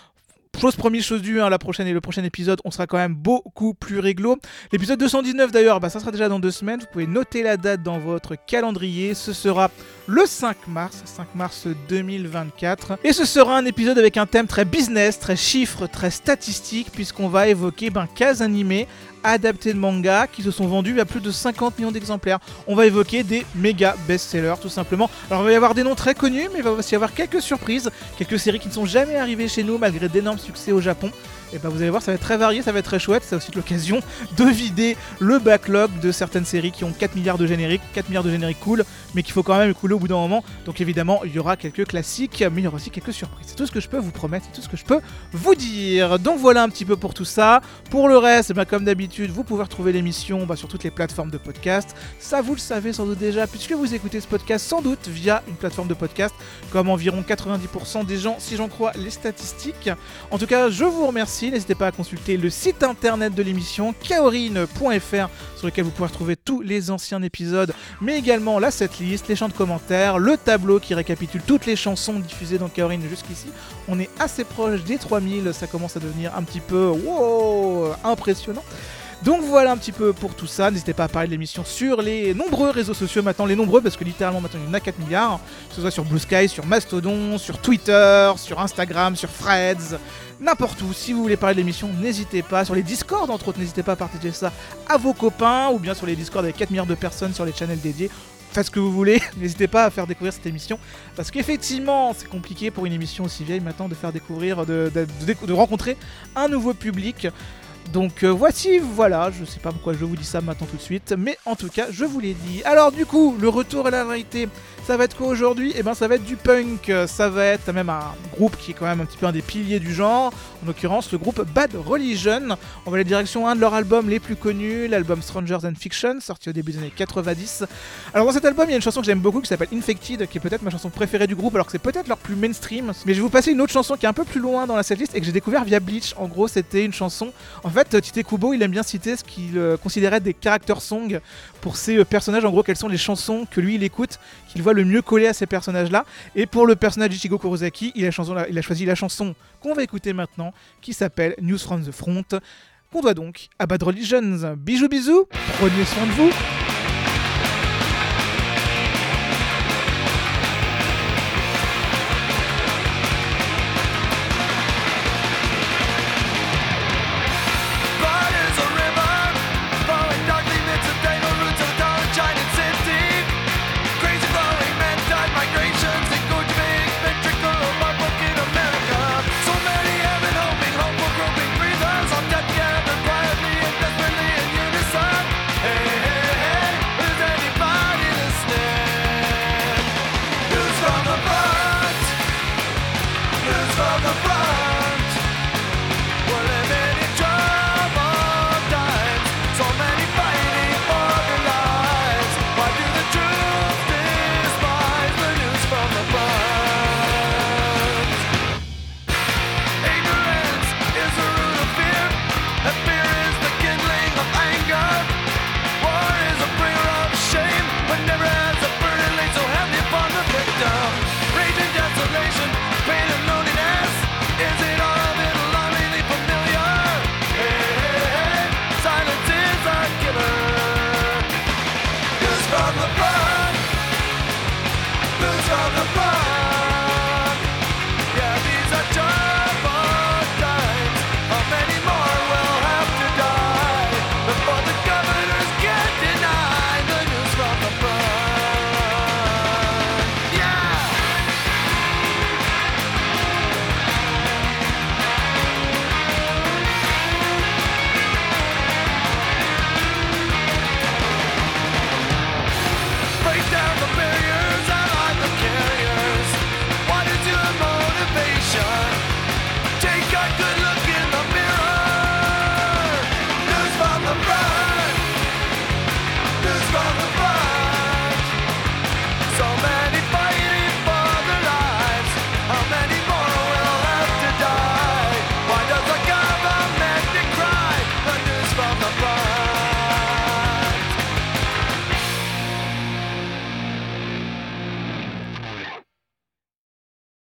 chose promise, chose due, hein, la prochaine et le prochain épisode, on sera quand même beaucoup plus réglo. L'épisode deux cent dix-neuf d'ailleurs, bah, ça sera déjà dans deux semaines. Vous pouvez noter la date dans votre calendrier. Ce sera le cinq mars, cinq mars deux mille vingt-quatre. Et ce sera un épisode avec un thème très business, très chiffres, très statistique, puisqu'on va évoquer ben, quinze animés adaptés de manga qui se sont vendus à plus de cinquante millions d'exemplaires. On va évoquer des méga best-sellers tout simplement. Alors il va y avoir des noms très connus, mais il va aussi y avoir quelques surprises, quelques séries qui ne sont jamais arrivées chez nous malgré d'énormes succès au Japon. Et bah vous allez voir, ça va être très varié, ça va être très chouette. C'est aussi l'occasion de vider le backlog de certaines séries qui ont quatre milliards de génériques, quatre milliards de génériques cool, mais qu'il faut quand même écouler au bout d'un moment. Donc évidemment, il y aura quelques classiques, mais il y aura aussi quelques surprises. C'est tout ce que je peux vous promettre, c'est tout ce que je peux vous dire. Donc voilà un petit peu pour tout ça. Pour le reste, bah, comme d'habitude, vous pouvez retrouver l'émission bah, sur toutes les plateformes de podcast. Ça, vous le savez sans doute déjà, puisque vous écoutez ce podcast sans doute via une plateforme de podcast, comme environ quatre-vingt-dix pour cent des gens, si j'en crois les statistiques. En tout cas, je vous remercie. N'hésitez pas à consulter le site internet de l'émission kaorin point f r sur lequel vous pouvez retrouver tous les anciens épisodes, mais également la setlist, les champs de commentaires, le tableau qui récapitule toutes les chansons diffusées dans Kaorin jusqu'ici. On est assez proche des trois mille, ça commence à devenir un petit peu wow, impressionnant. Donc voilà un petit peu pour tout ça. N'hésitez pas à parler de l'émission sur les nombreux réseaux sociaux maintenant, les nombreux parce que littéralement maintenant il y en a quatre milliards, que ce soit sur Blue Sky, sur Mastodon, sur Twitter, sur Instagram, sur Threads, n'importe où. Si vous voulez parler de l'émission, n'hésitez pas. Sur les Discord entre autres, n'hésitez pas à partager ça à vos copains ou bien sur les Discord avec quatre milliards de personnes sur les channels dédiés. Faites ce que vous voulez, n'hésitez pas à faire découvrir cette émission parce qu'effectivement c'est compliqué pour une émission aussi vieille maintenant de faire découvrir, de, de, de, de rencontrer un nouveau public. Donc euh, voici, voilà, je sais pas pourquoi je vous dis ça maintenant tout de suite, mais en tout cas je vous l'ai dit. Alors du coup, le retour à la vérité, ça va être quoi aujourd'hui ? Eh ben ça va être du punk, ça va être même un groupe qui est quand même un petit peu un des piliers du genre, en l'occurrence le groupe Bad Religion. On va aller direction un de leurs albums les plus connus, l'album Strangers and Fiction, sorti au début des années quatre-vingt-dix. Alors dans cet album, il y a une chanson que j'aime beaucoup qui s'appelle Infected, qui est peut-être ma chanson préférée du groupe, alors que c'est peut-être leur plus mainstream. Mais je vais vous passer une autre chanson qui est un peu plus loin dans la setlist et que j'ai découvert via Bleach. En gros, c'était une chanson... En fait, Tite Kubo, il aime bien citer ce qu'il euh, considérait des character songs pour ses euh, personnages. En gros, quelles sont les chansons que lui, il écoute, qu'il voit le mieux coller à ces personnages-là. Et pour le personnage d'Ichigo Kurosaki, il a, chanson, il a choisi la chanson qu'on va écouter maintenant, qui s'appelle News from the Front, qu'on doit donc à Bad Religion. Bisous bisous, prenez soin de vous.